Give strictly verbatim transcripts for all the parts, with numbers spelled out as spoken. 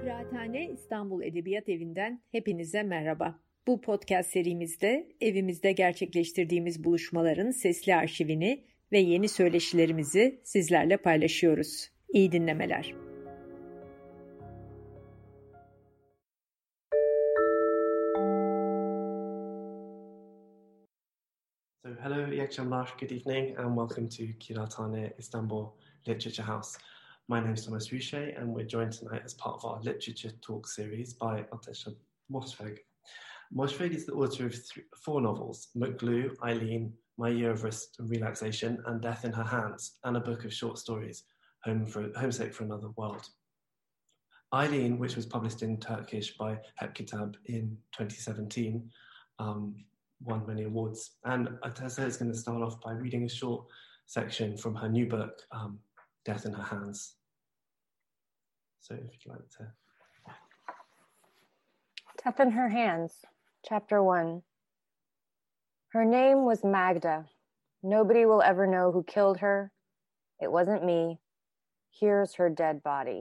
Kıraathane İstanbul Edebiyat Evi'nden hepinize merhaba. Bu podcast serimizde evimizde gerçekleştirdiğimiz buluşmaların sesli arşivini ve yeni söyleşilerimizi sizlerle paylaşıyoruz. İyi dinlemeler. So hello, iyi akşamlar, good evening, and welcome to Kıraathane Istanbul Literature House. My name is Thomas Richer, and we're joined tonight as part of our literature talk series by Atesha Mosfegh. Mosfegh is the author of th- four novels, Mutlu, Eileen, My Year of Rest and Relaxation, and Death in Her Hands, and a book of short stories, Home for, Homesick for Another World. Eileen, which was published in Turkish by Hep Kitab in twenty seventeen, um, won many awards. And Atessa is going to start off by reading a short section from her new book, um, Death in Her Hands. So if you'd like to... Death in Her Hands, Chapter one. Her name was Magda. Nobody will ever know who killed her. It wasn't me. Here's her dead body.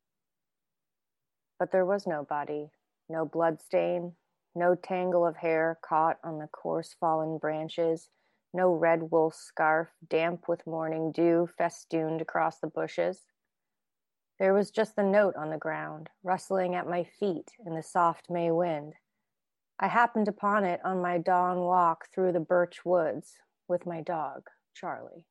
But there was no body, no blood stain, no tangle of hair caught on the coarse fallen branches, no red wool scarf damp with morning dew festooned across the bushes. There was just the note on the ground, rustling at my feet in the soft May wind. I happened upon it on my dawn walk through the birch woods with my dog, Charlie.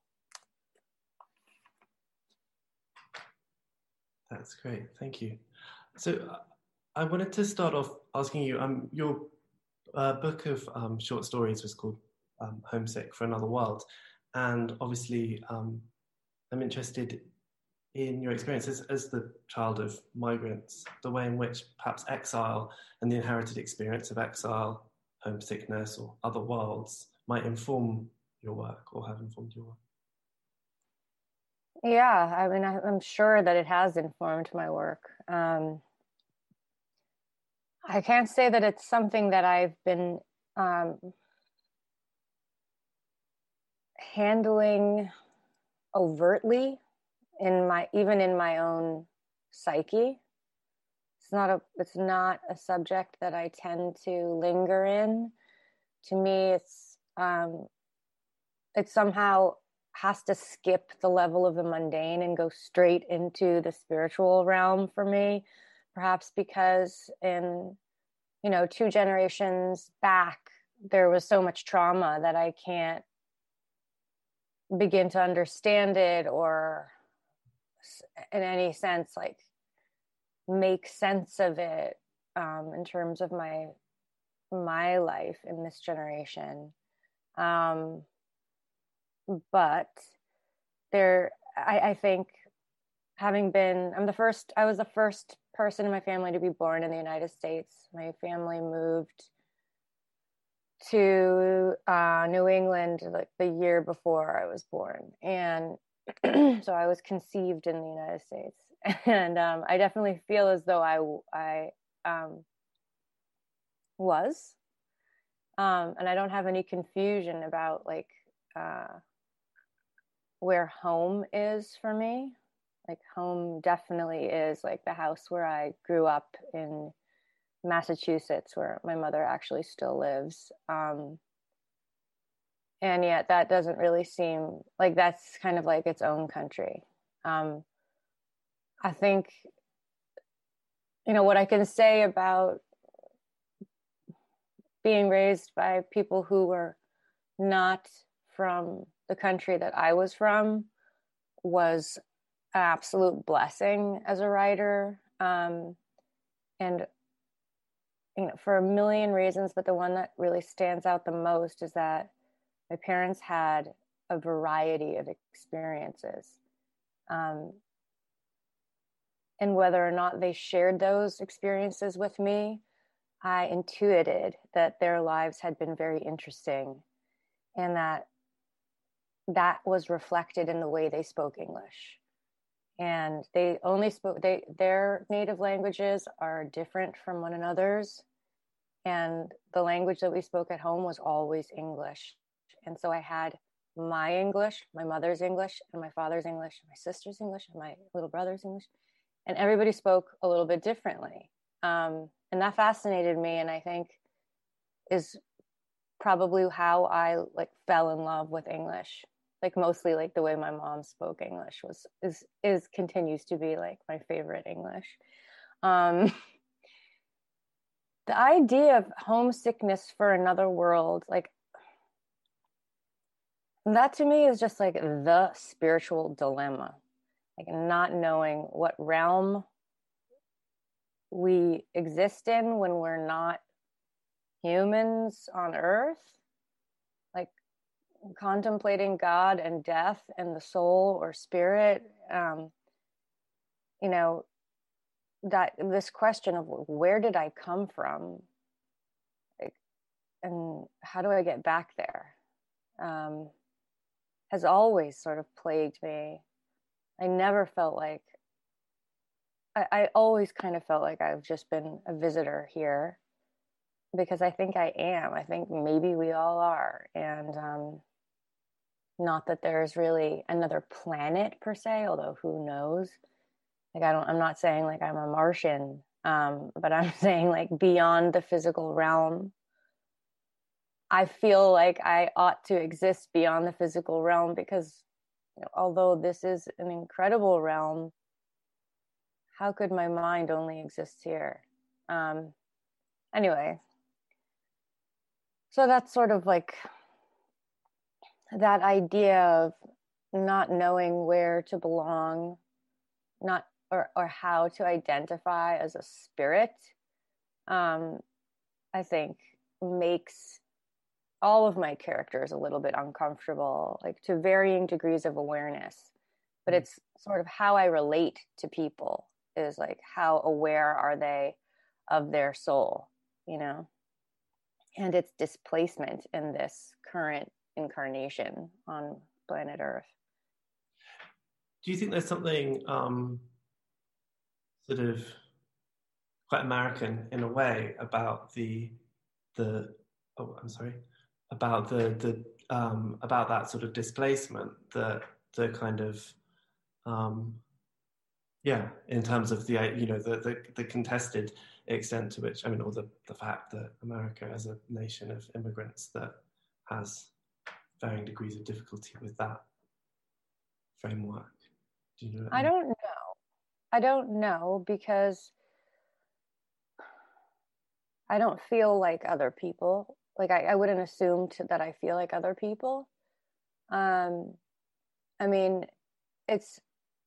That's great, thank you. So uh, I wanted to start off asking you, um, your uh, book of um, short stories was called um, Homesick for Another World. And obviously um, I'm interested in your experience as, as the child of migrants, the way in which perhaps exile and the inherited experience of exile, homesickness or other worlds might inform your work or have informed your work. Yeah, I mean, I, I'm sure that it has informed my work. Um, I can't say that it's something that I've been um, handling overtly in my, even in my own psyche. It's not a, it's not a subject that I tend to linger in. To me, it's, um, it somehow has to skip the level of the mundane and go straight into the spiritual realm for me. Perhaps because in, you know, two generations back, there was so much trauma that I can't begin to understand it or in any sense, like make sense of it um, in terms of my, my life in this generation. Um, but there, I, I think having been, I'm the first, I was the first person in my family to be born in the United States. My family moved to uh, New England like the year before I was born. And so I was conceived in the United States. And um, I definitely feel as though I, I um, was. Um, and I don't have any confusion about like uh, where home is for me. Like home definitely is like the house where I grew up in Massachusetts, where my mother actually still lives. Um, and yet that doesn't really seem like that's kind of like its own country. Um, I think, you know, what I can say about being raised by people who were not from the country that I was from was an absolute blessing as a writer. Um, and, you know, for a million reasons, but the one that really stands out the most is that my parents had a variety of experiences. Um, and whether or not they shared those experiences with me, I intuited that their lives had been very interesting and that that was reflected in the way they spoke English. And they only spoke, they, their native languages are different from one another's. And the language that we spoke at home was always English. And so I had my English, my mother's English, and my father's English, and my sister's English, and my little brother's English. and everybody spoke a little bit differently. Um, and that fascinated me, and I think is probably how I like fell in love with English. Like mostly like the way my mom spoke English was is is continues to be like my favorite English. Um, the idea of homesickness for another world, like that to me is just like the spiritual dilemma, like not knowing what realm we exist in when we're not humans on earth, like contemplating God and death and the soul or spirit. Um, you know, that this question of where did I come from, like, and how do I get back there, um, has always sort of plagued me. I never felt like, I, I always kind of felt like I've just been a visitor here, because I think I am. I think maybe we all are. And um, not that there's really another planet per se, although who knows? Like, I don't, I'm not saying like I'm a Martian, um, but I'm saying like beyond the physical realm. I feel like I ought to exist beyond the physical realm, because you know, although this is an incredible realm, how could my mind only exist here? Um, anyway, so that's sort of like that idea of not knowing where to belong, not or or how to identify as a spirit, um, I think makes all of my characters a little bit uncomfortable, like to varying degrees of awareness. But it's sort of how I relate to people is like, how aware are they of their soul, you know, and its displacement in this current incarnation on planet Earth. Do you think there's something um, sort of quite American in a way about the the oh I'm sorry about the the um, about that sort of displacement, the the kind of um, yeah, in terms of the you know the, the the contested extent to which, I mean, or the the fact that America as a nation of immigrants that has varying degrees of difficulty with that framework. Do you know what I I mean? don't know. I don't know, because I don't feel like other people. Like I, I wouldn't assume to, that I feel like other people. Um, I mean, it's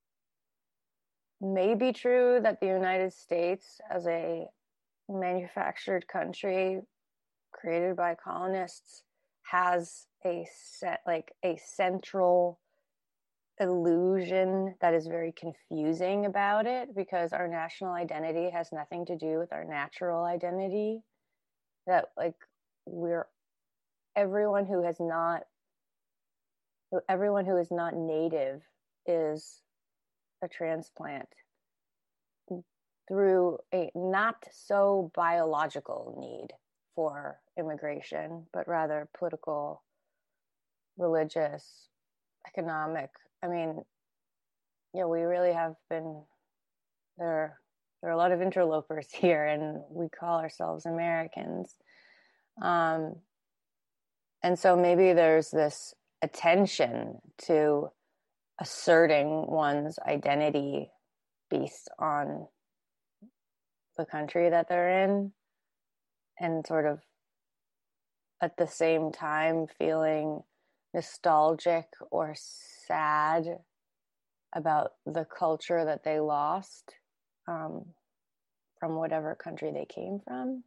maybe true that the United States, as a manufactured country created by colonists, has a set, like a central illusion that is very confusing about it, because our national identity has nothing to do with our natural identity. That like we're everyone who has not everyone who is not native is a transplant through a not so biological need for immigration, but rather political, religious, economic. I mean, yeah, we really have been there. There are a lot of interlopers here, and we call ourselves Americans. Um, and so maybe there's this attention to asserting one's identity based on the country that they're in, and sort of at the same time feeling nostalgic or sad about the culture that they lost um, from whatever country they came from.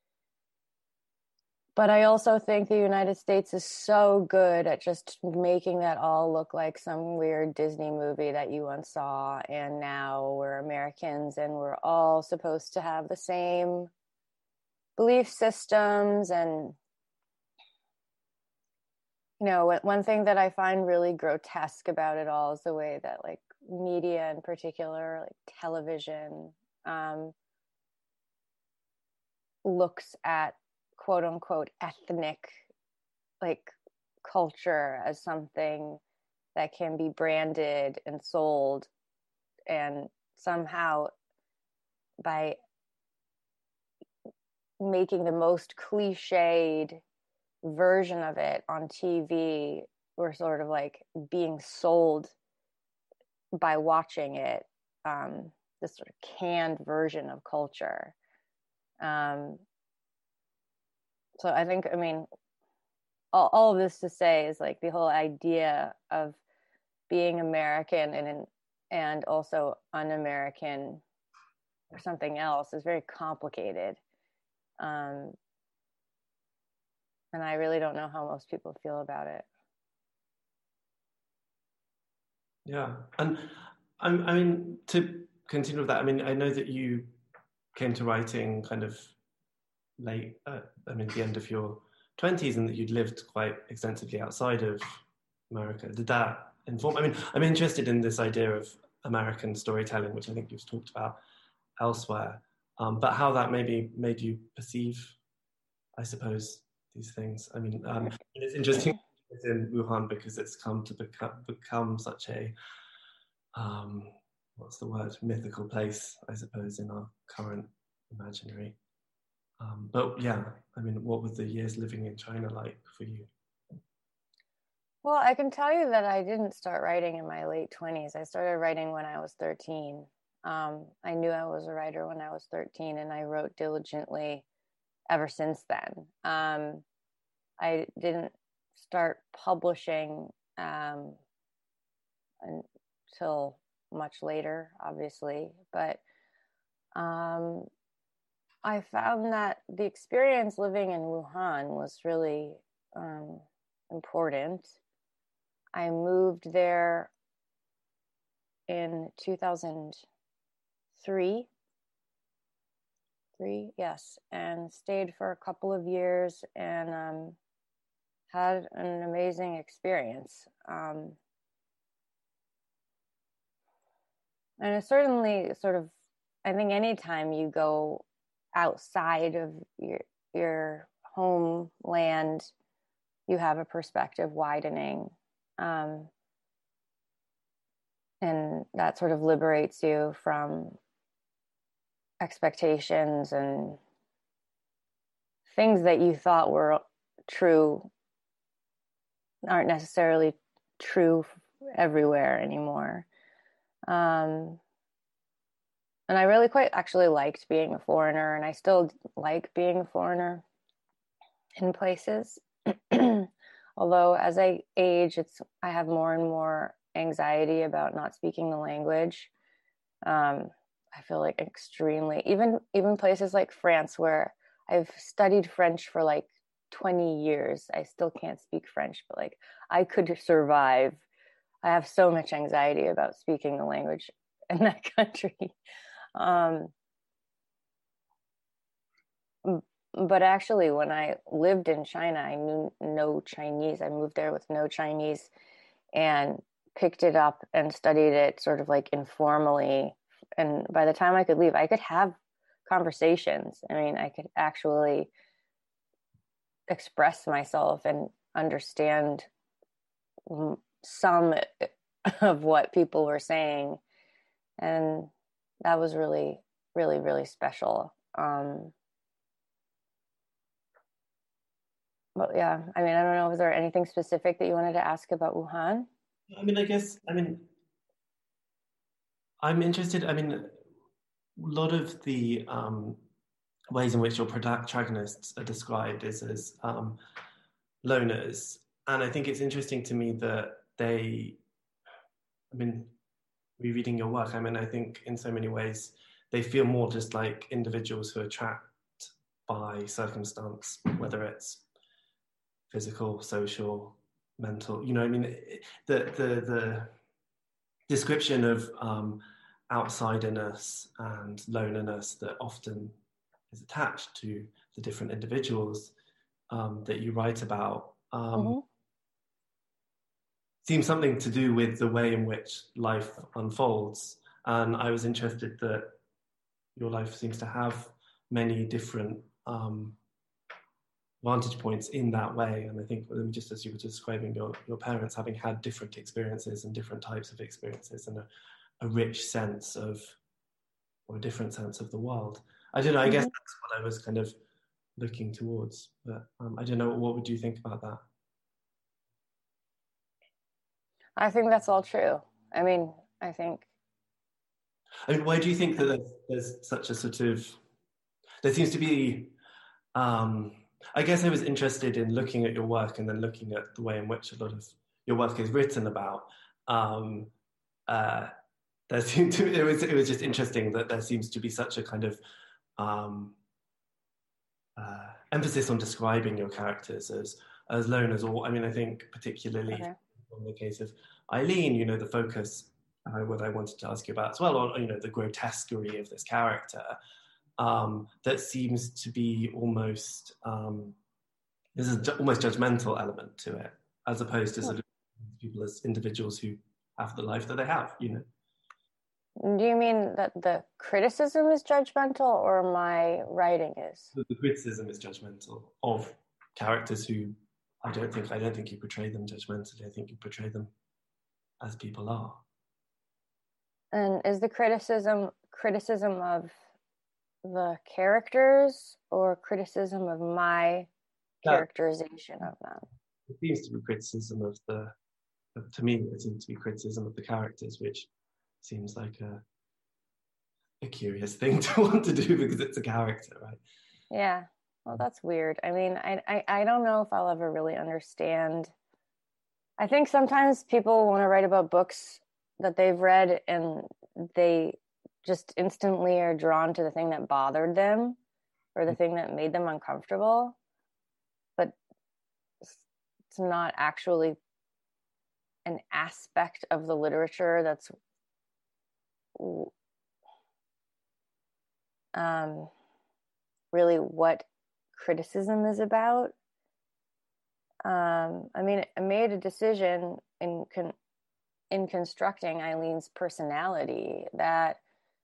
But I also think the United States is so good at just making that all look like some weird Disney movie that you once saw, and now we're Americans and we're all supposed to have the same belief systems. And you know, one thing that I find really grotesque about it all is the way that like media in particular, like television, um, looks at quote unquote ethnic like culture as something that can be branded and sold and somehow by making the most cliched version of it on T V, we're sort of like being sold by watching it, um, this sort of canned version of culture. Um, so I think, I mean, all, all of this to say is like the whole idea of being American and and also un-American or something else is very complicated. Um, and I really don't know how most people feel about it. Yeah, and I, I mean, to continue with that, I mean, I know that you came to writing kind of late, uh, I mean, the end of your twenties, and that you'd lived quite extensively outside of America. Did that inform? I mean, I'm interested in this idea of American storytelling, which I think you've talked about elsewhere, um, but how that maybe made you perceive, I suppose, these things. I mean, um, it's interesting in Wuhan because it's come to become, become such a, um, what's the word, mythical place, I suppose, in our current imaginary. Um, but yeah, I mean, what were the years living in China like for you? Well, I can tell you that I didn't start writing in my late twenties. I started writing when I was thirteen. Um, I knew I was a writer when I was thirteen, and I wrote diligently ever since then. Um, I didn't start publishing um, until much later, obviously, but um, I found that the experience living in Wuhan was really um, important. I moved there in two thousand three, three, yes, and stayed for a couple of years and um, had an amazing experience. Um, and it certainly sort of, I think anytime you go outside of your, your homeland, you have a perspective widening. Um, and that sort of liberates you from expectations and things that you thought were true aren't necessarily true everywhere anymore. Um, and I really quite actually liked being a foreigner, and I still like being a foreigner in places. Although as I age, it's I have more and more anxiety about not speaking the language. Um, I feel like extremely, even even places like France, where I've studied French for like twenty years, I still can't speak French, but like I could survive. I have so much anxiety about speaking the language in that country. Um, but actually, when I lived in China, I knew no Chinese. I moved there with no Chinese and picked it up and studied it sort of like informally. And by the time I could leave, I could have conversations. I mean, I could actually express myself and understand some of what people were saying. And that was really, really, really special. Um, but yeah, I mean, I don't know, was there anything specific that you wanted to ask about Wuhan? I mean, I guess, I mean, I'm interested, I mean, a lot of the um, ways in which your protagonists are described is as um, loners. And I think it's interesting to me that they, I mean, rereading your work, I mean, I think in so many ways, they feel more just like individuals who are trapped by circumstance, whether it's physical, social, mental, you know, I mean, the, the, the description of um, outsiderness and loneliness that often is attached to the different individuals um, that you write about um, mm-hmm. seems something to do with the way in which life unfolds. And I was interested that your life seems to have many different um, vantage points in that way. And I think just as you were describing your, your parents having had different experiences and different types of experiences and a, a rich sense of or a different sense of the world. I don't know, I Mm-hmm. guess that's what I was kind of looking towards, but um, I don't know, what would you think about that? I think that's all true. I mean, I think. I mean, why do you think that there's, there's such a sort of, there seems to be, um, I guess I was interested in looking at your work and then looking at the way in which a lot of your work is written about. Um, uh, there seemed to, it was, it was just interesting that there seems to be such a kind of um, uh, emphasis on describing your characters as as loners, or I mean, I think particularly Okay. in the case of Eileen, you know, the focus, uh, what I wanted to ask you about as well, on, you know, the grotesquerie of this character, um, that seems to be almost, um, there's an almost judgmental element to it, as opposed to sort of people as individuals who have the life that they have, you know. Do you mean that the criticism is judgmental, or my writing is? The, the criticism is judgmental of characters who I don't think I don't think you portray them judgmentally. I think you portray them as people are. And is the criticism criticism of the characters, or criticism of my that, characterization of them? It seems to be criticism of the. To me, it seems to be criticism of the characters, which seems like a a curious thing to want to do because it's a character, right? Yeah. Well, that's weird. I mean, I, I, I don't know if I'll ever really understand. I think sometimes people want to write about books that they've read and they just instantly are drawn to the thing that bothered them or the thing that made them uncomfortable. But it's not actually an aspect of the literature that's um, really what criticism is about. Um, I mean, I made a decision in con- in constructing Eileen's personality that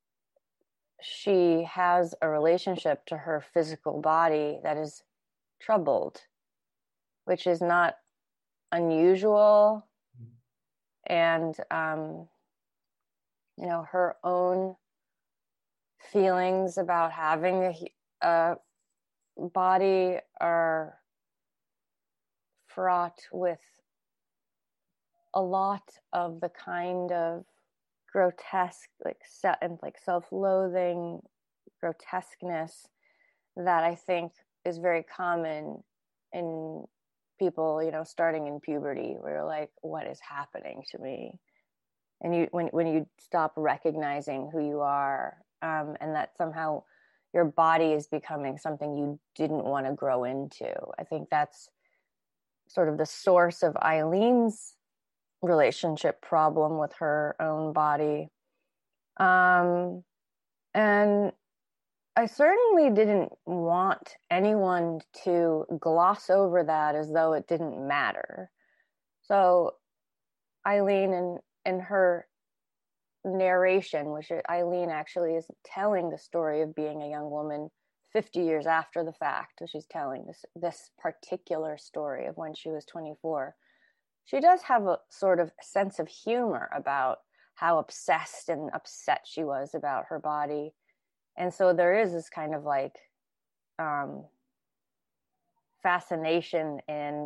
she has a relationship to her physical body that is troubled, which is not unusual. And, um, you know, her own feelings about having a, a body are fraught with a lot of the kind of grotesque, like set and like self-loathing grotesqueness that I think is very common in people, you know, starting in puberty, where you're like, what is happening to me? And you, when when you stop recognizing who you are, um, and that somehow your body is becoming something you didn't want to grow into. I think that's sort of the source of Eileen's relationship problem with her own body. Um, and I certainly didn't want anyone to gloss over that as though it didn't matter. So Eileen and in her narration, which Eileen actually is telling the story of being a young woman fifty years after the fact. So she's telling this this particular story of when she was twenty-four. She does have a sort of sense of humor about how obsessed and upset she was about her body. And so there is this kind of like um, fascination and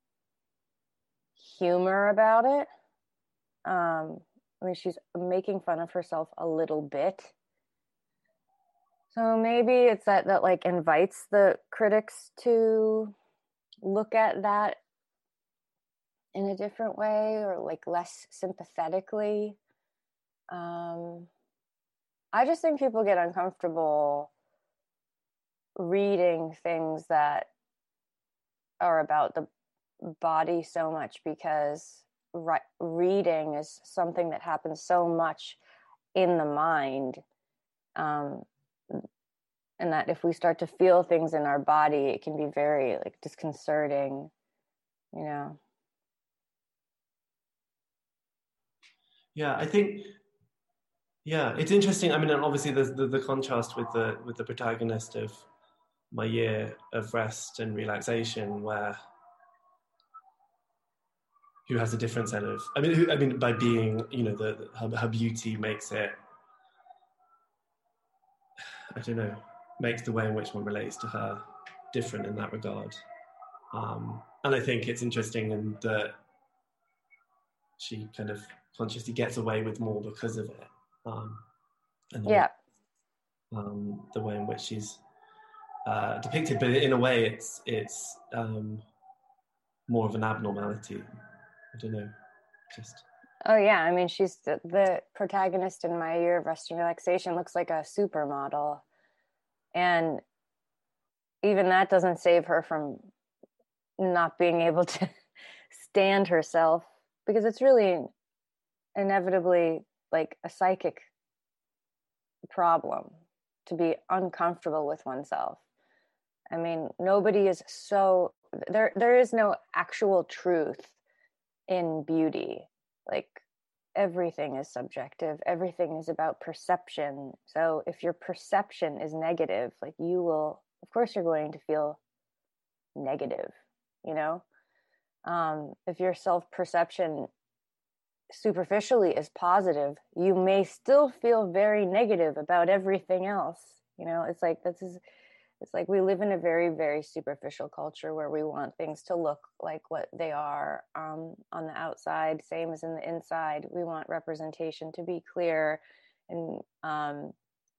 humor about it. Um, I mean, she's making fun of herself a little bit. So maybe it's that that like invites the critics to look at that in a different way, or like less sympathetically. Um, I just think people get uncomfortable reading things that are about the body so much because re- reading is something that happens so much in the mind. Um, and that if we start to feel things in our body, it can be very like disconcerting, you know? Yeah, I think, yeah, it's interesting. I mean, obviously there's the, the contrast with the with the protagonist of My Year of Rest and Relaxation, where who has a different set of, I mean, who, I mean, by being, you know, the, the her, her beauty makes it I don't know, makes the way in which one relates to her different in that regard. Um, and I think it's interesting in that she kind of consciously gets away with more because of it. Um, and the yeah. way, um, the way in which she's uh, depicted, but in a way it's it's um, more of an abnormality. I don't know, just... Oh yeah, I mean, she's the, the protagonist in My Year of Rest and Relaxation looks like a supermodel. And even that doesn't save her from not being able to stand herself, because it's really inevitably like a psychic problem to be uncomfortable with oneself. I mean, nobody is so, there there is no actual truth in beauty. Like, everything is subjective, everything is about perception. So if your perception is negative, like, you will, of course you're going to feel negative, you know. Um if your self-perception superficially is positive, you may still feel very negative about everything else, you know. It's like, this is, it's like we live in a very, very superficial culture where we want things to look like what they are um, on the outside, same as in the inside. We want representation to be clear, and um,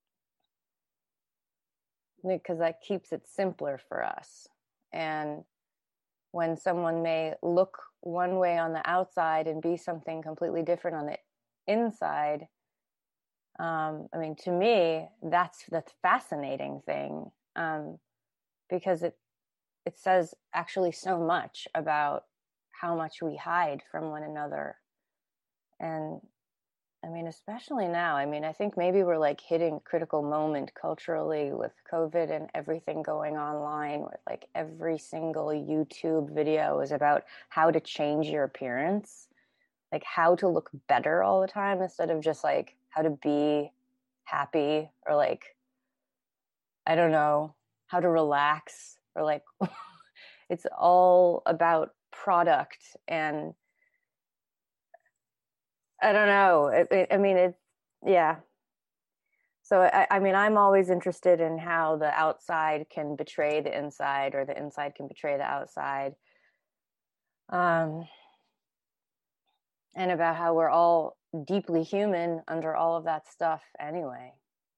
because that keeps it simpler for us. And when someone may look one way on the outside and be something completely different on the inside, um, I mean, to me, that's the fascinating thing. Um, because it it says actually so much about how much we hide from one another. And I mean, especially now, I mean, I think maybe we're like hitting a critical moment culturally with COVID and everything going online, with like every single YouTube video is about how to change your appearance, like how to look better all the time instead of just like how to be happy, or like, I don't know, how to relax, or like it's all about product. And I don't know, it, it, I mean, it, yeah. So I, I mean, I'm always interested in how the outside can betray the inside, or the inside can betray the outside, um and about how we're all deeply human under all of that stuff anyway.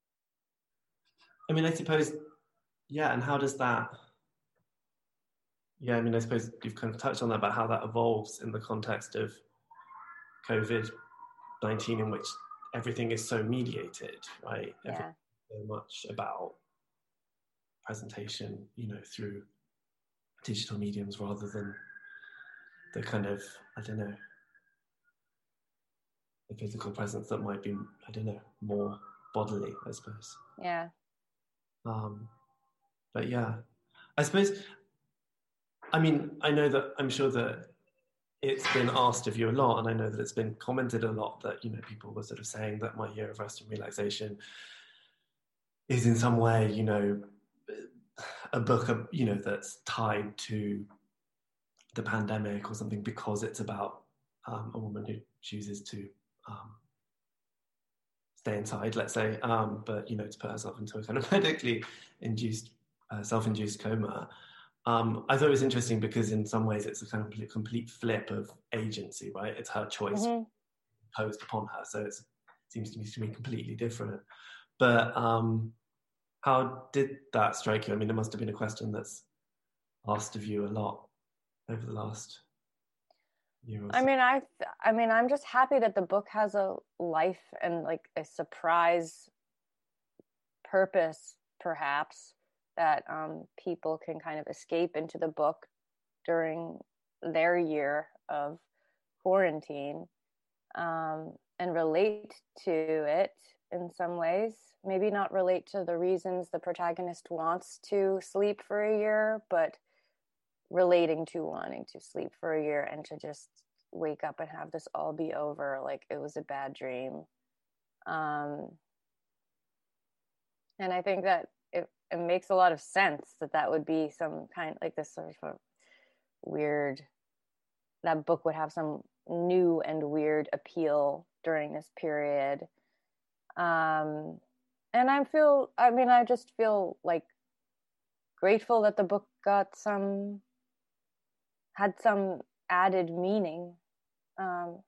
I mean, I suppose, yeah, and how does that, yeah, I mean, I suppose you've kind of touched on that, about how that evolves in the context of COVID nineteen, in which everything is so mediated, right? Yeah. Everything so much about presentation, you know, through digital mediums rather than the kind of, I don't know, the physical presence that might be, I don't know, more bodily, I suppose. Yeah. Um, but yeah, I suppose, I mean, I know that, I'm sure that it's been asked of you a lot, and I know that it's been commented a lot that, you know, people were sort of saying that My Year of Rest and Relaxation is in some way, you know, a book, you know, that's tied to the pandemic or something, because it's about um, a woman who chooses to um, stay inside, let's say, um, but, you know, to put herself into a kind of medically induced, uh, self-induced coma. Um, I thought it was interesting because in some ways it's a kind of complete flip of agency, right? It's her choice mm-hmm. imposed upon her. So it's, it seems to me to be completely different. But um, how did that strike you? I mean, it must have been a question that's asked of you a lot over the last year or so. I mean, I, I mean, I'm just happy that the book has a life and like a surprise purpose, perhaps, that um, people can kind of escape into the book during their year of quarantine, um, and relate to it in some ways. Maybe not relate to the reasons the protagonist wants to sleep for a year, but relating to wanting to sleep for a year and to just wake up and have this all be over, like it was a bad dream. Um, and I think that it, it makes a lot of sense that that would be some kind, like this sort of weird, that book would have some new and weird appeal during this period. Um, and I feel, I mean, I just feel like grateful that the book got some, had some added meaning. Um,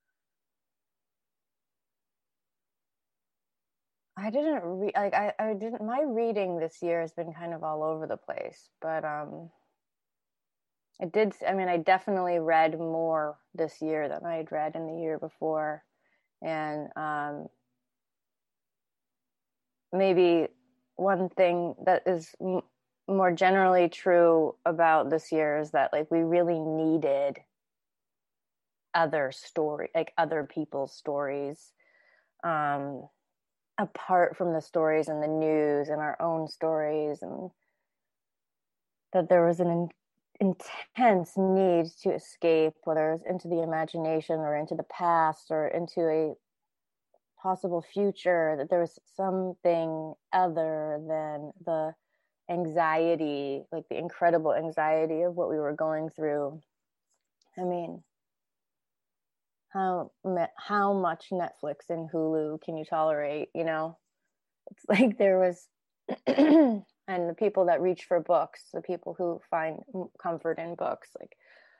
I didn't read, like, I, I didn't, my reading this year has been kind of all over the place, but, um, it did, I mean, I definitely read more this year than I had read in the year before. And, um, maybe one thing that is m- more generally true about this year is that, like, we really needed other story, like other people's stories, um, apart from the stories in the news and our own stories, and that there was an in- intense need to escape, whether it's into the imagination or into the past or into a possible future, that there was something other than the anxiety, like the incredible anxiety of what we were going through. I mean, how how much Netflix and Hulu can you tolerate, you know? It's like there was and the people that reach for books, the people who find comfort in books, like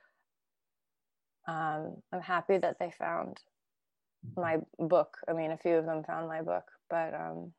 um I'm happy that they found my book. I mean, a few of them found my book, but um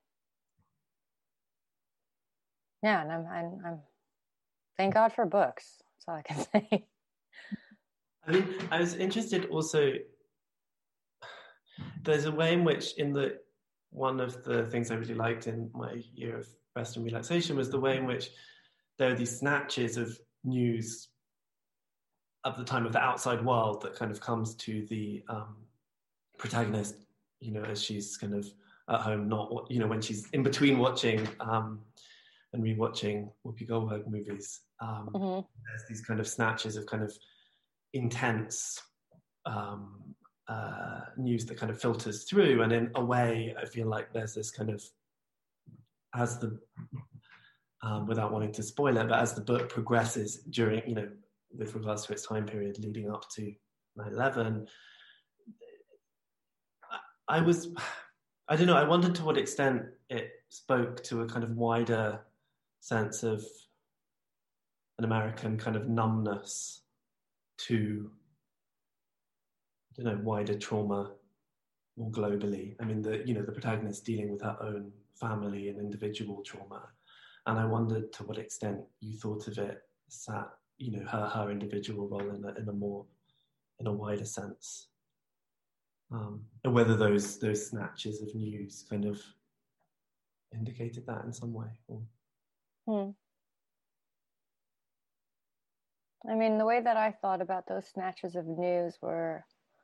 yeah, and I'm I'm, I'm thank God for books. That's all I can say. I mean, I was interested also, there's a way in which in the, one of the things I really liked in my year of rest and relaxation was the way in which there are these snatches of news at the time of the outside world that kind of comes to the um, protagonist, you know, as she's kind of at home, not, you know, when she's in between watching um, and rewatching Whoopi Goldberg movies. Um, mm-hmm. There's these kind of snatches of kind of intense um, uh, news that kind of filters through, and in a way, I feel like there's this kind of, as the um, without wanting to spoil it, but as the book progresses during, you know, with regards to its time period leading up to nine eleven, I, I was, I don't know, I wondered to what extent it spoke to a kind of wider sense of an American kind of numbness to, I don't know, wider trauma more globally. I mean, the, you know, the protagonist dealing with her own family and individual trauma. And I wondered to what extent you thought of it as that, you know, her, her individual role in a, in a more, in a wider sense. Um, and whether those, those snatches of news kind of indicated that in some way. Or... Hmm. I mean, the way that I thought about those snatches of news were,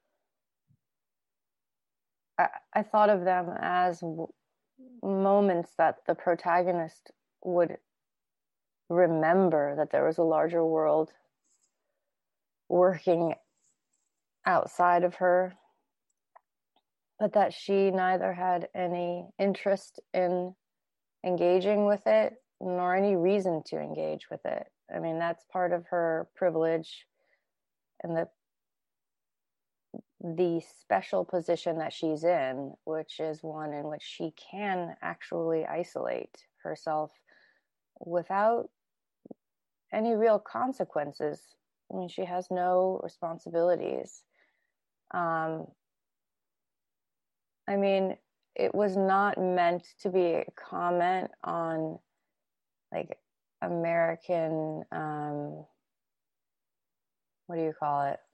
I, I thought of them as w- moments that the protagonist would remember that there was a larger world working outside of her, but that she neither had any interest in engaging with it nor any reason to engage with it. I mean, that's part of her privilege and the the special position that she's in, which is one in which she can actually isolate herself without any real consequences. I mean, she has no responsibilities. Um, I mean, it was not meant to be a comment on, like, American, um, what do you call it?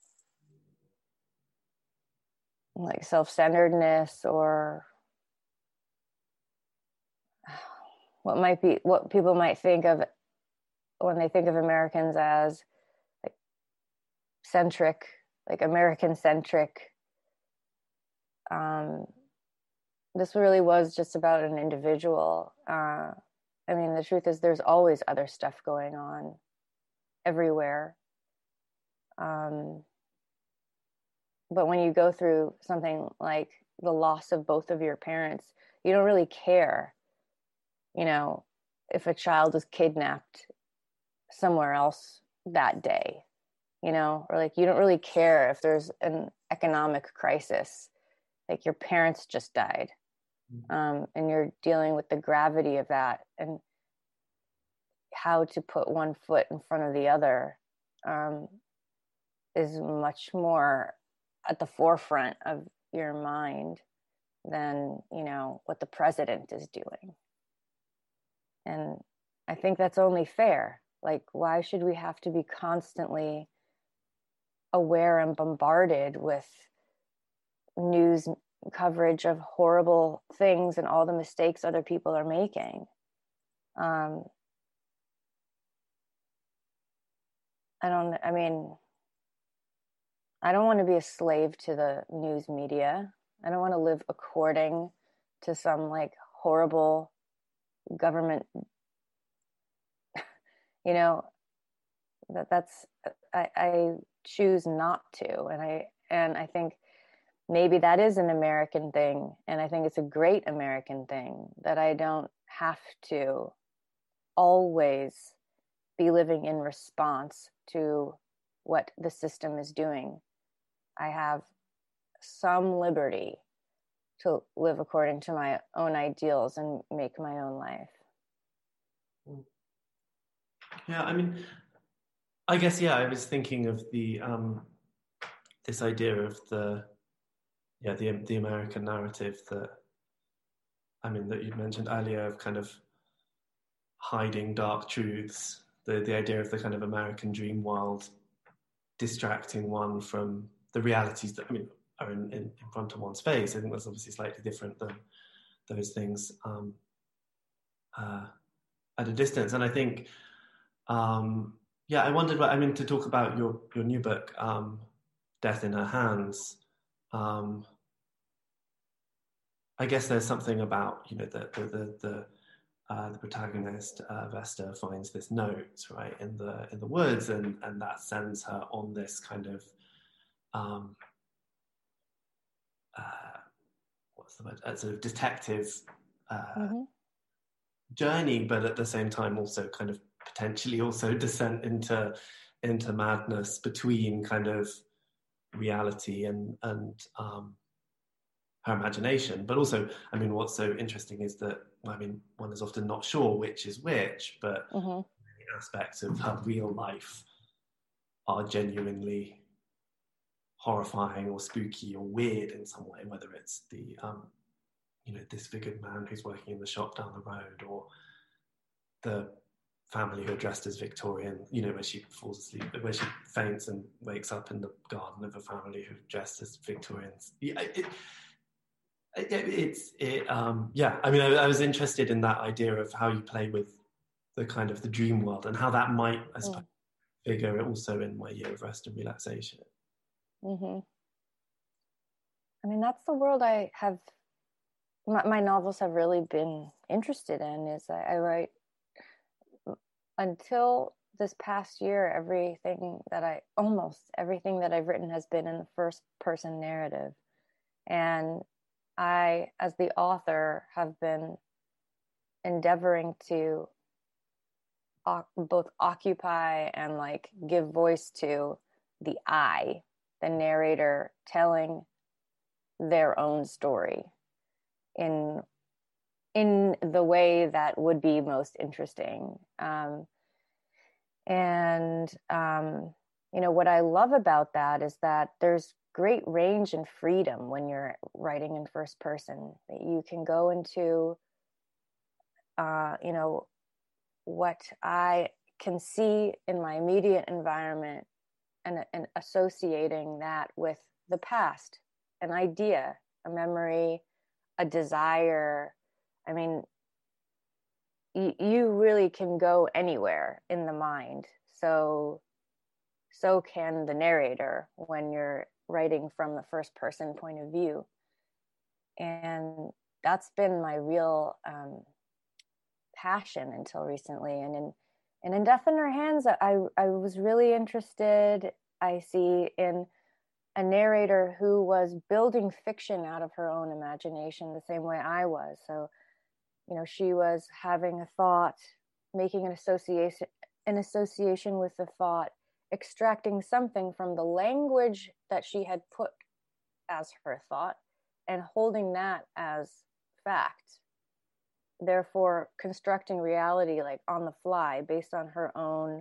Like self-centeredness, or what might be, what people might think of when they think of Americans as like centric, like American centric. Um, this really was just about an individual. Uh, I mean, the truth is there's always other stuff going on everywhere. Um, but when you go through something like the loss of both of your parents, you don't really care, you know, if a child is kidnapped somewhere else that day, you know, or like you don't really care if there's an economic crisis, like your parents just died. um, and you're dealing with the gravity of that and how to put one foot in front of the other um, is much more at the forefront of your mind than, you know, what the president is doing. And I think that's only fair. Like, why should we have to be constantly aware and bombarded with news coverage of horrible things and all the mistakes other people are making? Um, I don't, I mean, I don't want to be a slave to the news media. I don't want to live according to some like horrible government, you know, that that's, I, I choose not to. And I, and I think maybe that is an American thing. And I think it's a great American thing that I don't have to always be living in response to what the system is doing. I have some liberty to live according to my own ideals and make my own life. Yeah, I mean, I guess, yeah, I was thinking of the, um, this idea of the, yeah, the, the American narrative that, I mean, that you mentioned earlier of kind of hiding dark truths, the, the idea of the kind of American dream world distracting one from the realities that, I mean, are in, in, in front of one's face. I think that's obviously slightly different than those things um, uh, at a distance. And I think, um, yeah, I wondered, I mean, to talk about your, your new book, um, Death in Her Hands, um, I guess there's something about, you know, the, the, the, the Uh, the protagonist, uh, Vesta, finds this note, right, in the in the woods, and and that sends her on this kind of um, uh, what's the word? A sort of detective uh, Mm-hmm. journey, but at the same time also kind of potentially also descent into into madness between kind of reality and and um, her imagination. But also, I mean, what's so interesting is that, I mean, one is often not sure which is which, but Mm-hmm. many aspects of her real life are genuinely horrifying or spooky or weird in some way, whether it's the, um, you know, disfigured man who's working in the shop down the road, or the family who are dressed as Victorian, you know, where she falls asleep, where she faints and wakes up in the garden of a family who are dressed as Victorians. Yeah, it, it, it's it um yeah I mean I, I was interested in that idea of how you play with the kind of the dream world and how that might, I suppose, mm. figure also in My Year of Rest and Relaxation. Mm-hmm. I mean, that's the world I have, my, my novels have really been interested in. Is I, I write, until this past year, everything that I almost everything that I've written has been in the first person narrative, and I, as the author, have been endeavoring to o- both occupy and like give voice to the I, the narrator, telling their own story in in the way that would be most interesting. Um, and um, you know, what I love about that is that there's great range and freedom when you're writing in first person. That you can go into, uh, you know, what I can see in my immediate environment, and, and associating that with the past, an idea, a memory, a desire. I mean, y- you really can go anywhere in the mind. So, so can the narrator when you're writing from the first person point of view. And that's been my real um, passion until recently. And in, and in Death in Her Hands, I, I was really interested, I see, in a narrator who was building fiction out of her own imagination the same way I was. So, you know, she was having a thought, making an association, an association with the thought, extracting something from the language that she had put as her thought, and holding that as fact, therefore constructing reality like on the fly based on her own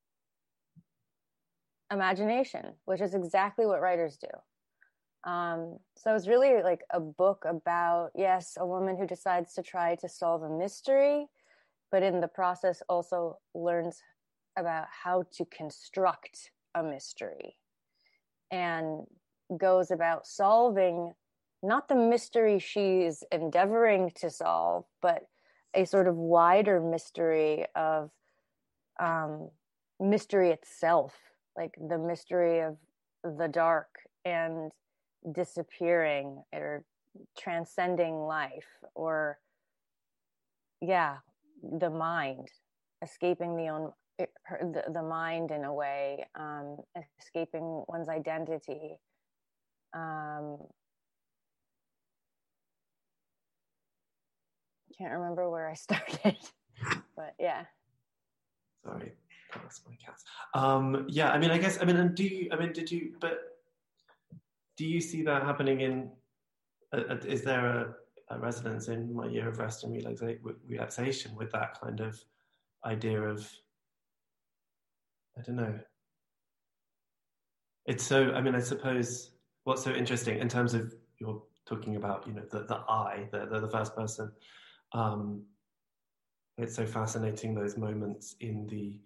imagination, which is exactly what writers do. Um, so it's really like a book about, yes, a woman who decides to try to solve a mystery, but in the process also learns about how to construct a mystery and goes about solving not the mystery she's endeavoring to solve, but a sort of wider mystery of um, mystery itself, like the mystery of the dark and disappearing or transcending life, or yeah, the mind, escaping the own her, the, the mind in a way, um, escaping one's identity. Um, can't remember where I started, but yeah. Sorry, that's my cat. Um, yeah, I mean, I guess, I mean, and do you, I mean, did you, but do you see that happening in, uh, uh, is there a, a resonance in My Year of Rest and relaxa- Relaxation with that kind of idea of, I don't know. It's so, I mean, I suppose what's so interesting in terms of, you're talking about, you know, the, the I, the, the, the first person, um, it's so fascinating, those moments in the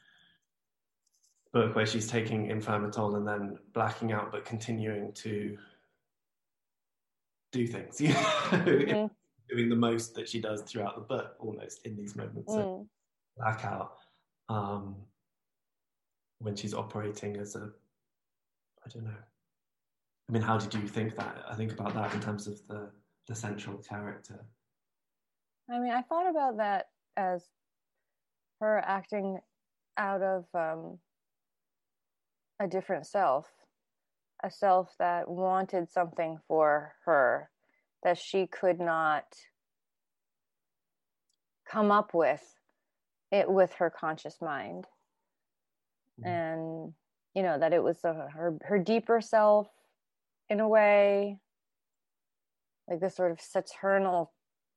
book where she's taking Inflammatol and then blacking out, but continuing to do things, you know, mm-hmm. doing the most that she does throughout the book, almost in these moments mm. of blackout, um, when she's operating as a, I don't know. I mean, how did you think that? I think about that in terms of the, the central character. I mean, I thought about that as her acting out of um, a different self, a self that wanted something for her that she could not come up with it with her conscious mind. Mm. And, you know, that it was a, her, her deeper self in a way, like this sort of saturnal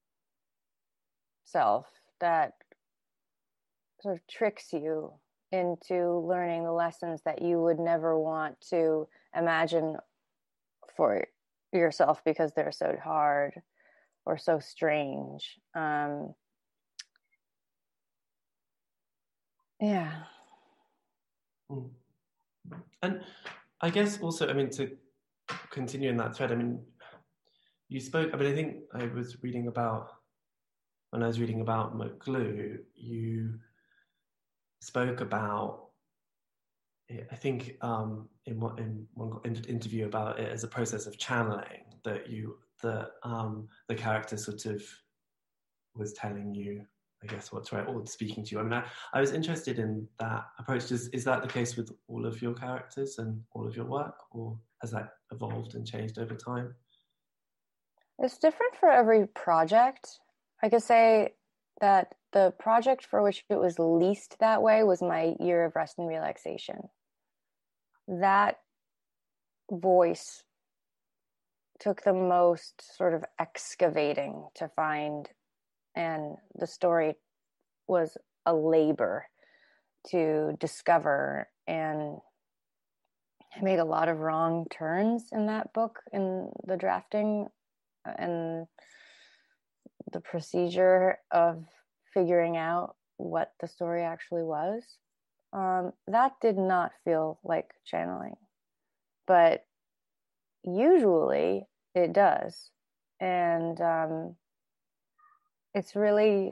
self that sort of tricks you into learning the lessons that you would never want to imagine for yourself because they're so hard or so strange. Um, yeah. Mm. And I guess also, I mean, to continue in that thread, I mean, you spoke, I mean, I think I was reading about, when I was reading about McGlue, you spoke about, I think um, in, one, in one interview about it as a process of channeling, that you, that um, the character sort of was telling you, I guess, what's right, or speaking to you. I mean, I, I was interested in that approach. Is, is that the case with all of your characters and all of your work, or has that evolved and changed over time? It's different for every project. I could say that the project for which it was least that way was My Year of Rest and Relaxation. That voice took the most sort of excavating to find, and the story was a labor to discover, and I made a lot of wrong turns in that book, in the drafting and the procedure of figuring out what the story actually was. Um, that did not feel like channeling, but usually it does. And um, it's really,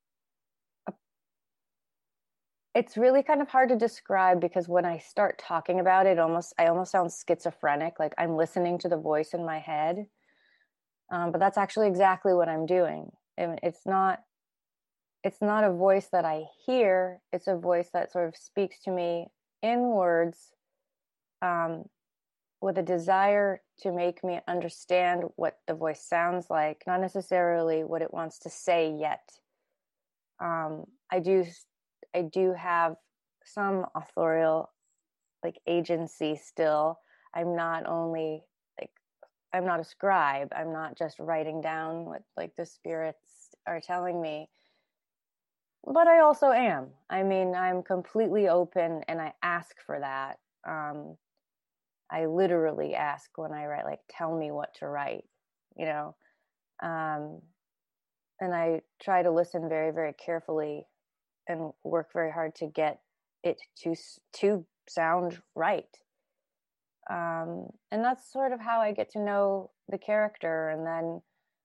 it's really kind of hard to describe, because when I start talking about it, almost I almost sound schizophrenic, like I'm listening to the voice in my head. Um, but that's actually exactly what I'm doing. It's not, it's not a voice that I hear. It's a voice that sort of speaks to me in words, um, with a desire to make me understand what the voice sounds like, not necessarily what it wants to say yet. Um, I do, I do have some authorial, like, agency still. I'm not only like I'm not a scribe. I'm not just writing down what like the spirits are telling me. But I also am. I mean, I'm completely open and I ask for that. Um, I literally ask when I write, like, tell me what to write, you know? Um, and I try to listen very, very carefully and work very hard to get it to, to sound right. Um, and that's sort of how I get to know the character. And then,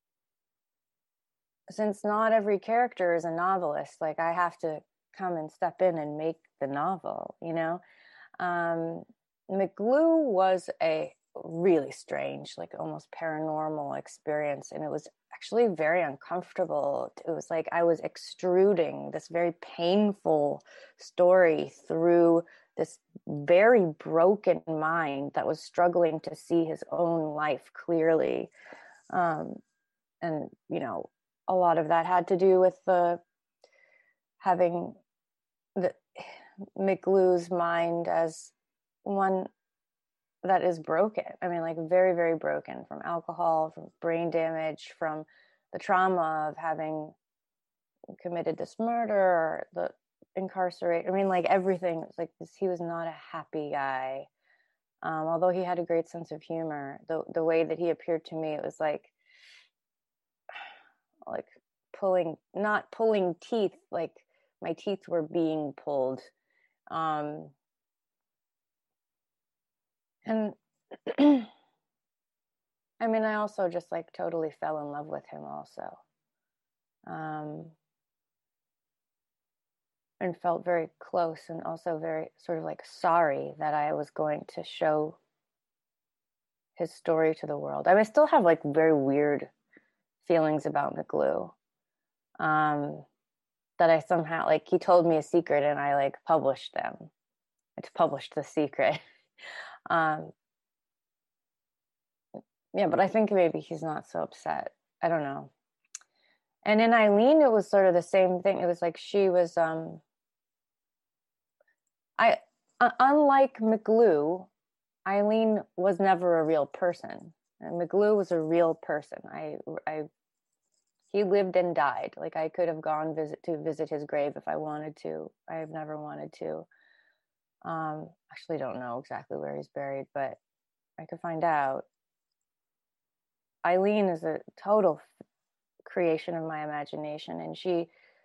since not every character is a novelist, like, I have to come and step in and make the novel, you know? Um, McGlue was a really strange, like almost paranormal experience. And it was actually very uncomfortable. It was like I was extruding this very painful story through this very broken mind that was struggling to see his own life clearly. Um, and, you know, a lot of that had to do with the having the McGlue's mind as one that is broken. I mean, like, very, very broken from alcohol, from brain damage, from the trauma of having committed this murder, the incarcerate. I mean, like, everything. It's like this, he was not a happy guy. Um, although he had a great sense of humor, the the way that he appeared to me, it was like, like pulling, not pulling teeth, like my teeth were being pulled. Um, and I mean, I also just like totally fell in love with him also. Um, and felt very close and also very sort of like sorry that I was going to show his story to the world. I mean, I still have like very weird feelings about McGlue. Um, that I somehow, like, he told me a secret and I like published them. I just published the secret. um, yeah, but I think maybe he's not so upset. I don't know. And in Eileen, it was sort of the same thing. It was like she was, um, I, uh, unlike McGlue, Eileen was never a real person. And McGlue was a real person. I, I, he lived and died. Like, I could have gone visit to visit his grave if I wanted to. I have never wanted to. Um, actually don't know exactly where he's buried, but I could find out. Eileen is a total f- creation of my imagination, and she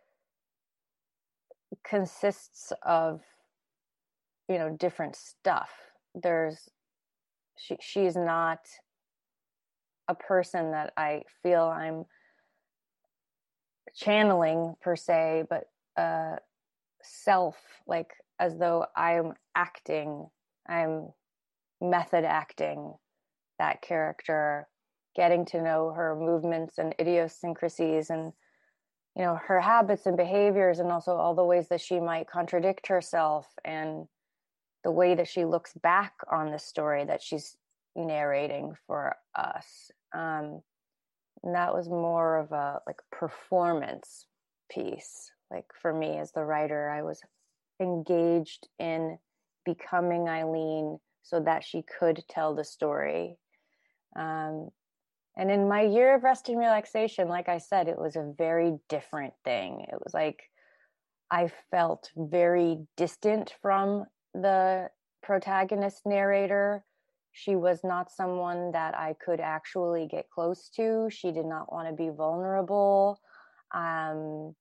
consists of, you know, different stuff. There's, she, she's not a person that I feel I'm channeling per se, but uh, self, like as though I'm acting, I'm method acting that character, getting to know her movements and idiosyncrasies and, you know, her habits and behaviors, and also all the ways that she might contradict herself and the way that she looks back on the story that she's narrating for us. Um, and that was more of a like performance piece. Like, for me as the writer, I was engaged in becoming Eileen so that she could tell the story. Um, and in my year of rest and relaxation, like I said, it was a very different thing. It was like I felt very distant from the protagonist narrator. She was not someone that I could actually get close to. She did not want to be vulnerable. Um,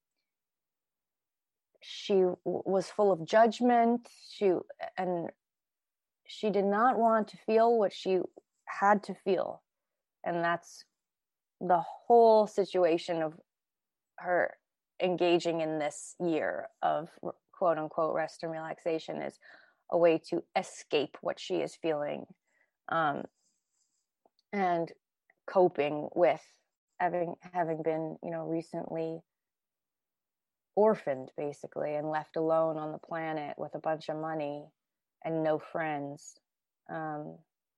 she w- was full of judgment. She and she did not want to feel what she had to feel. And that's the whole situation of her engaging in this year of quote unquote rest and relaxation, is a way to escape what she is feeling, um, and coping with having having been, you know, recently orphaned basically and left alone on the planet with a bunch of money and no friends. Um,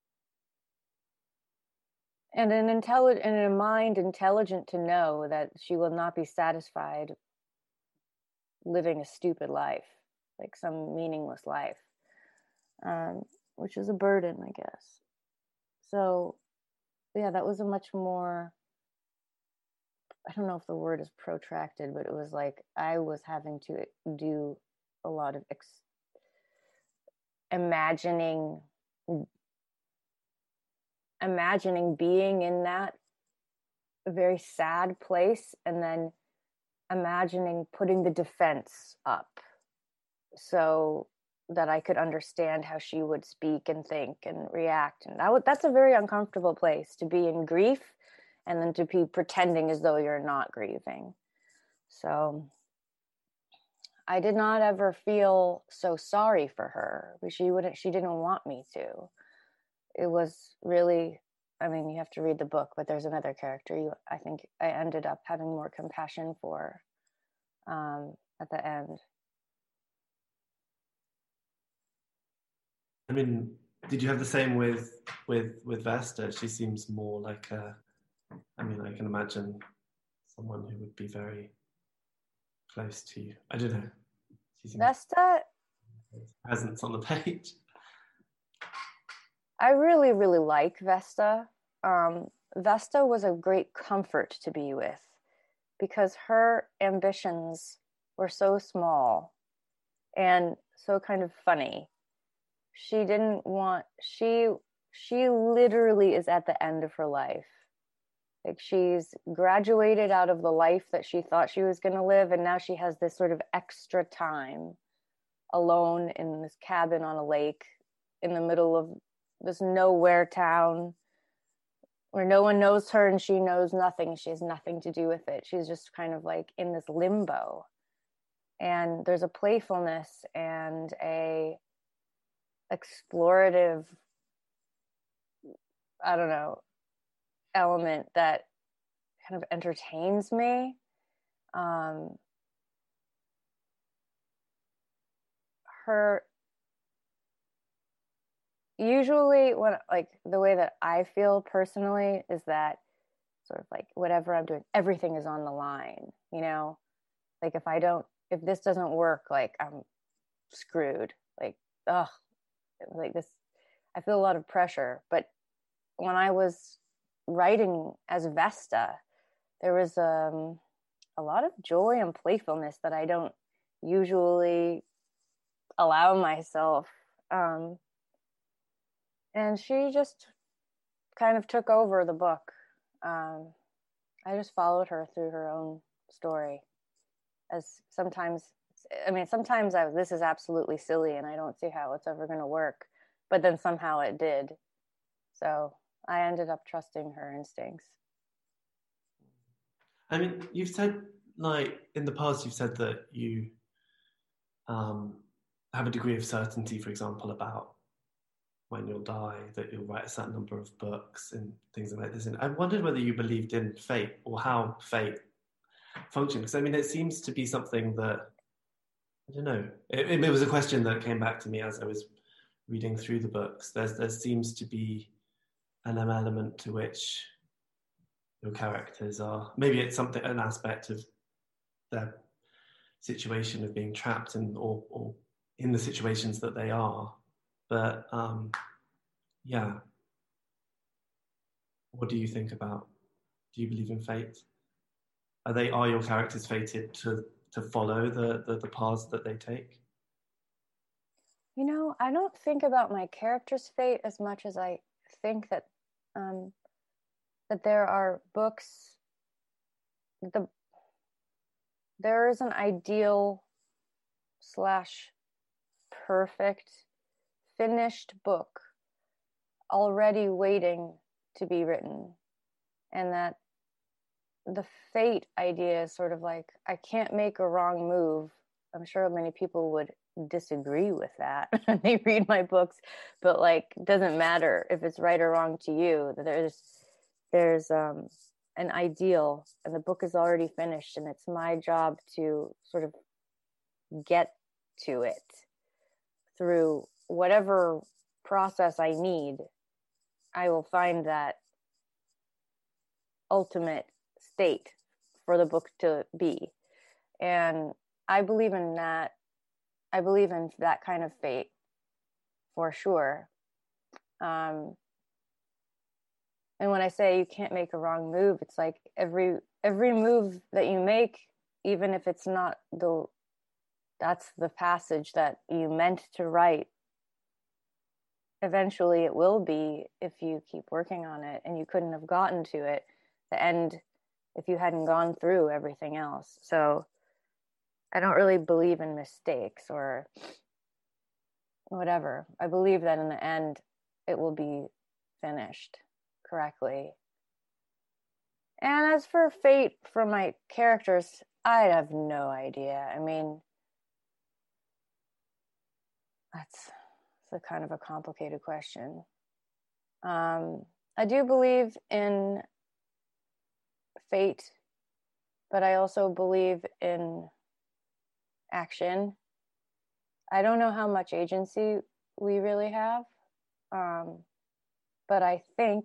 and an intelligent and a mind intelligent to know that she will not be satisfied living a stupid life, like some meaningless life, um, which is a burden, I guess. So yeah, that was a much more, I don't know if the word is protracted, but it was like I was having to do a lot of ex- imagining, imagining being in that very sad place, and then imagining putting the defense up so that I could understand how she would speak and think and react. And that w- that's a very uncomfortable place, to be in grief and then to be pretending as though you're not grieving. So I did not ever feel so sorry for her. She wouldn't, she didn't want me to. It was really, I mean, you have to read the book, but there's another character you, I think I ended up having more compassion for um, at the end. I mean, did you have the same with with with Vesta? She seems more like a, I mean, I can imagine someone who would be very close to you. I don't know. She seems Vesta, presence on the page. I really, really like Vesta. Um, Vesta was a great comfort to be with because her ambitions were so small and so kind of funny. She didn't want, she, she literally is at the end of her life. Like, she's graduated out of the life that she thought she was going to live, and now she has this sort of extra time alone in this cabin on a lake in the middle of this nowhere town where no one knows her and she knows nothing. She has nothing to do with it. She's just kind of like in this limbo. And there's a playfulness and a explorative, I don't know, element that kind of entertains me. Um, her, usually when, like, the way that I feel personally is that sort of like whatever I'm doing, everything is on the line, you know? Like, if I don't, if this doesn't work, like, I'm screwed. Like, ugh, like this, I feel a lot of pressure. But when I was writing as Vesta, there was um, a lot of joy and playfulness that I don't usually allow myself. Um, and she just kind of took over the book. Um, I just followed her through her own story. As sometimes, I mean, sometimes I, this is absolutely silly and I don't see how it's ever going to work. But then somehow it did. So I ended up trusting her instincts. I mean, you've said, like, in the past, you've said that you um, have a degree of certainty, for example, about when you'll die, that you'll write a certain number of books and things like this. And I wondered whether you believed in fate or how fate functioned. Because, I mean, it seems to be something that, I don't know, it, it was a question that came back to me as I was reading through the books. There's, there seems to be an element to which your characters are, maybe it's something, an aspect of their situation of being trapped in, or, or in the situations that they are. But um, yeah, what do you think about, do you believe in fate? Are they, are your characters fated to, to follow the, the, the paths that they take? You know, I don't think about my character's fate as much as I think that um, that there are books, the there is an ideal slash perfect finished book already waiting to be written, and that the fate idea is sort of like, I can't make a wrong move. I'm sure many people would disagree with that when they read my books, but like, it doesn't matter if it's right or wrong to you. There's there's um an ideal, and the book is already finished, and it's my job to sort of get to it through whatever process I need. I will find that ultimate state for the book to be. And I believe in that. I believe in that kind of fate for sure. Um, And when I say you can't make a wrong move, it's like every every move that you make, even if it's not the that's the passage that you meant to write, eventually it will be if you keep working on it, and you couldn't have gotten to it, the end, if you hadn't gone through everything else. So I don't really believe in mistakes or whatever. I believe that in the end it will be finished correctly. And as for fate for my characters, I have no idea. I mean, that's, that's a kind of a complicated question. Um, I do believe in fate, but I also believe in action. I don't know how much agency we really have, um, but I think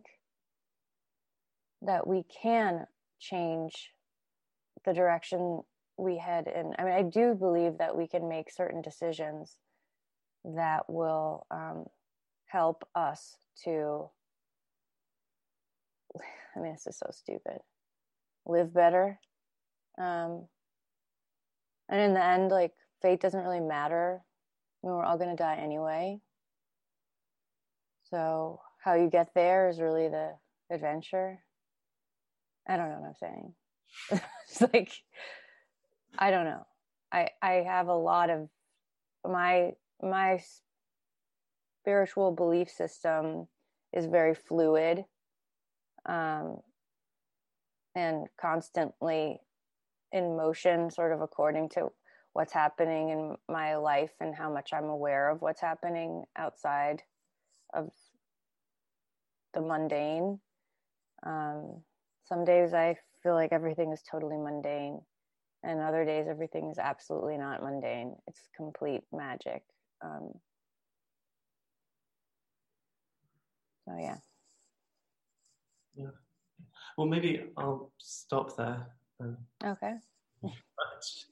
that we can change the direction we head in. I mean, I do believe that we can make certain decisions that will um, help us to, I mean, this is so stupid, live better. Um, and in the end, like, fate doesn't really matter. I mean, we're all going to die anyway. So how you get there is really the adventure. I don't know what I'm saying. It's like, I don't know. I I have a lot of my my spiritual belief system is very fluid, um, and constantly in motion, sort of according to what's happening in my life and how much I'm aware of what's happening outside of the mundane. Um, some days I feel like everything is totally mundane, and other days everything is absolutely not mundane. It's complete magic. Um, so yeah. Yeah. Well, maybe I'll stop there. Um, Okay.